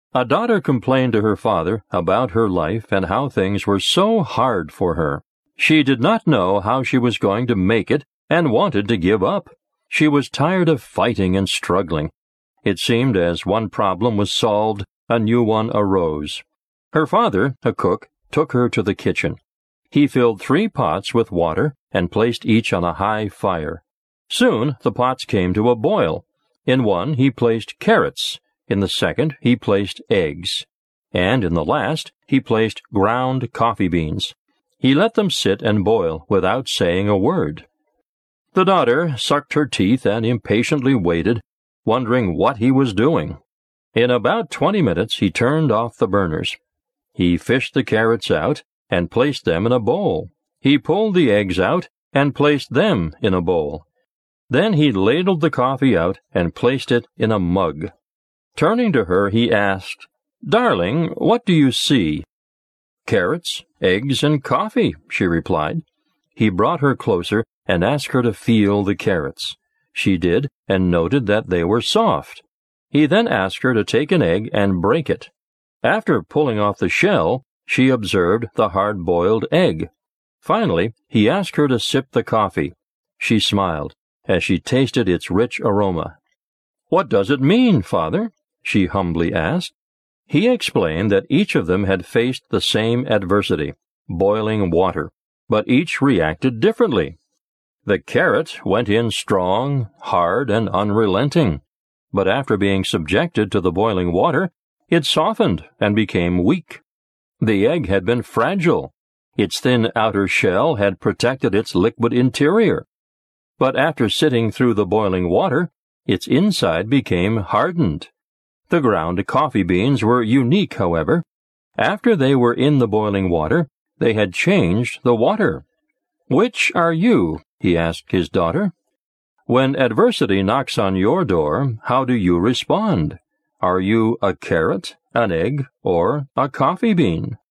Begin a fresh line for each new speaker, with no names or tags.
A daughter complained to her father about her life and how things were so hard for her. She did not know how she was going to make it and wanted to give up. She was tired of fighting and struggling. It seemed as one problem was solved, a new one arose. Her father, a cook, took her to the kitchen. He filled 3 pots with water and placed each on a high fire. Soon the pots came to a boil. In one he placed carrots, in the second he placed eggs, and in the last he placed ground coffee beans. He let them sit and boil without saying a word. The daughter sucked her teeth and impatiently waited, wondering what he was doing. In about 20 minutes he turned off the burners. He fished the carrots out and placed them in a bowl. He pulled the eggs out and placed them in a bowl. Then he ladled the coffee out and placed it in a mug. Turning to her, he asked, "Darling, what do you see?" "Carrots, eggs, and coffee," she replied. He brought her closer and asked her to feel the carrots. She did, and noted that they were soft. He then asked her to take an egg and break it. After pulling off the shell, she observed the hard-boiled egg. Finally, he asked her to sip the coffee. She smiled as she tasted its rich aroma. "What does it mean, Father?" she humbly asked. He explained that each of them had faced the same adversity, boiling water, but each reacted differently. The carrot went in strong, hard, and unrelenting, but after being subjected to the boiling water, it softened and became weak. The egg had been fragile. Its thin outer shell had protected its liquid interior. But after sitting through the boiling water, its inside became hardened. The ground coffee beans were unique, however. After they were in the boiling water, they had changed the water. "Which are you?" he asked his daughter. "When adversity knocks on your door, how do you respond? Are you a carrot, an egg, or a coffee bean?"